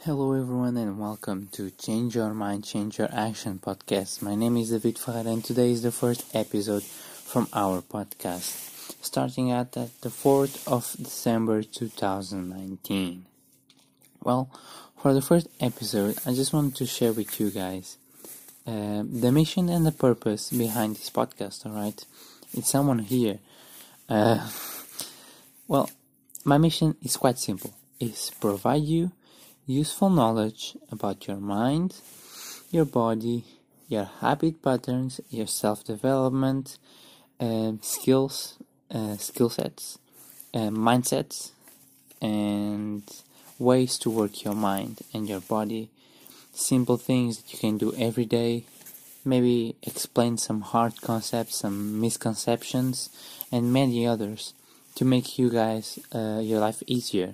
Hello everyone and welcome to Change Your Mind, Change Your Action podcast. My name is David Ferreira and today is the first episode from our podcast, starting at the 4th of December 2019. Well, for the first episode, I just wanted to share with you guys the mission and the purpose behind this podcast, alright? It's someone here. Well, my mission is quite simple. It's provide you useful knowledge about your mind, your body, your habit patterns, your self-development, skill sets, mindsets, and ways to work your mind and your body. Simple things that you can do every day. Maybe explain some hard concepts, some misconceptions, and many others to make you guys your life easier.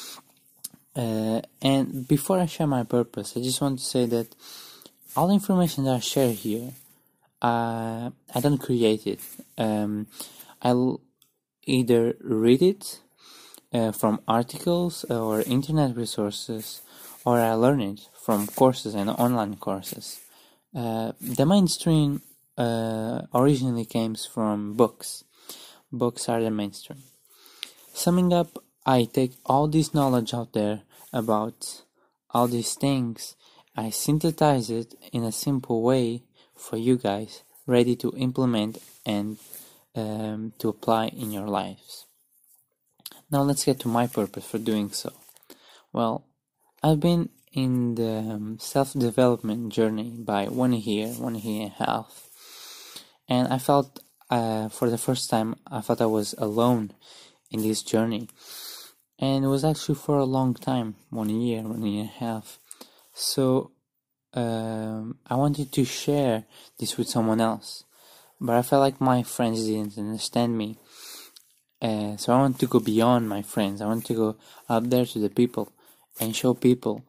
And before I share my purpose, I just want to say that all the information that I share here, I don't create it. I'll either read it from articles or internet resources, or I learn it from courses and online courses. The mainstream originally came from books. Books are the mainstream. Summing up, I take all this knowledge out there about all these things, I synthesize it in a simple way for you guys, ready to implement and to apply in your lives. Now let's get to my purpose for doing so. Well, I've been in the self-development journey by 1 year and a half, and I felt for the first time I felt I was alone in this journey. And it was actually for a long time, 1 year and a half. So I wanted to share this with someone else, but I felt like my friends didn't understand me. So I want to go beyond my friends. I want to go out there to the people and show people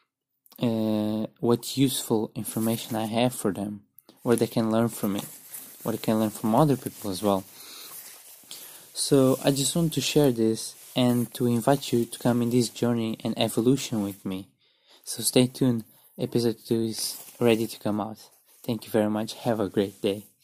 what useful information I have for them, what they can learn from me, what they can learn from other people as well. So I just want to share this and to invite you to come in this journey and evolution with me. So stay tuned, episode 2 is ready to come out. Thank you very much, have a great day.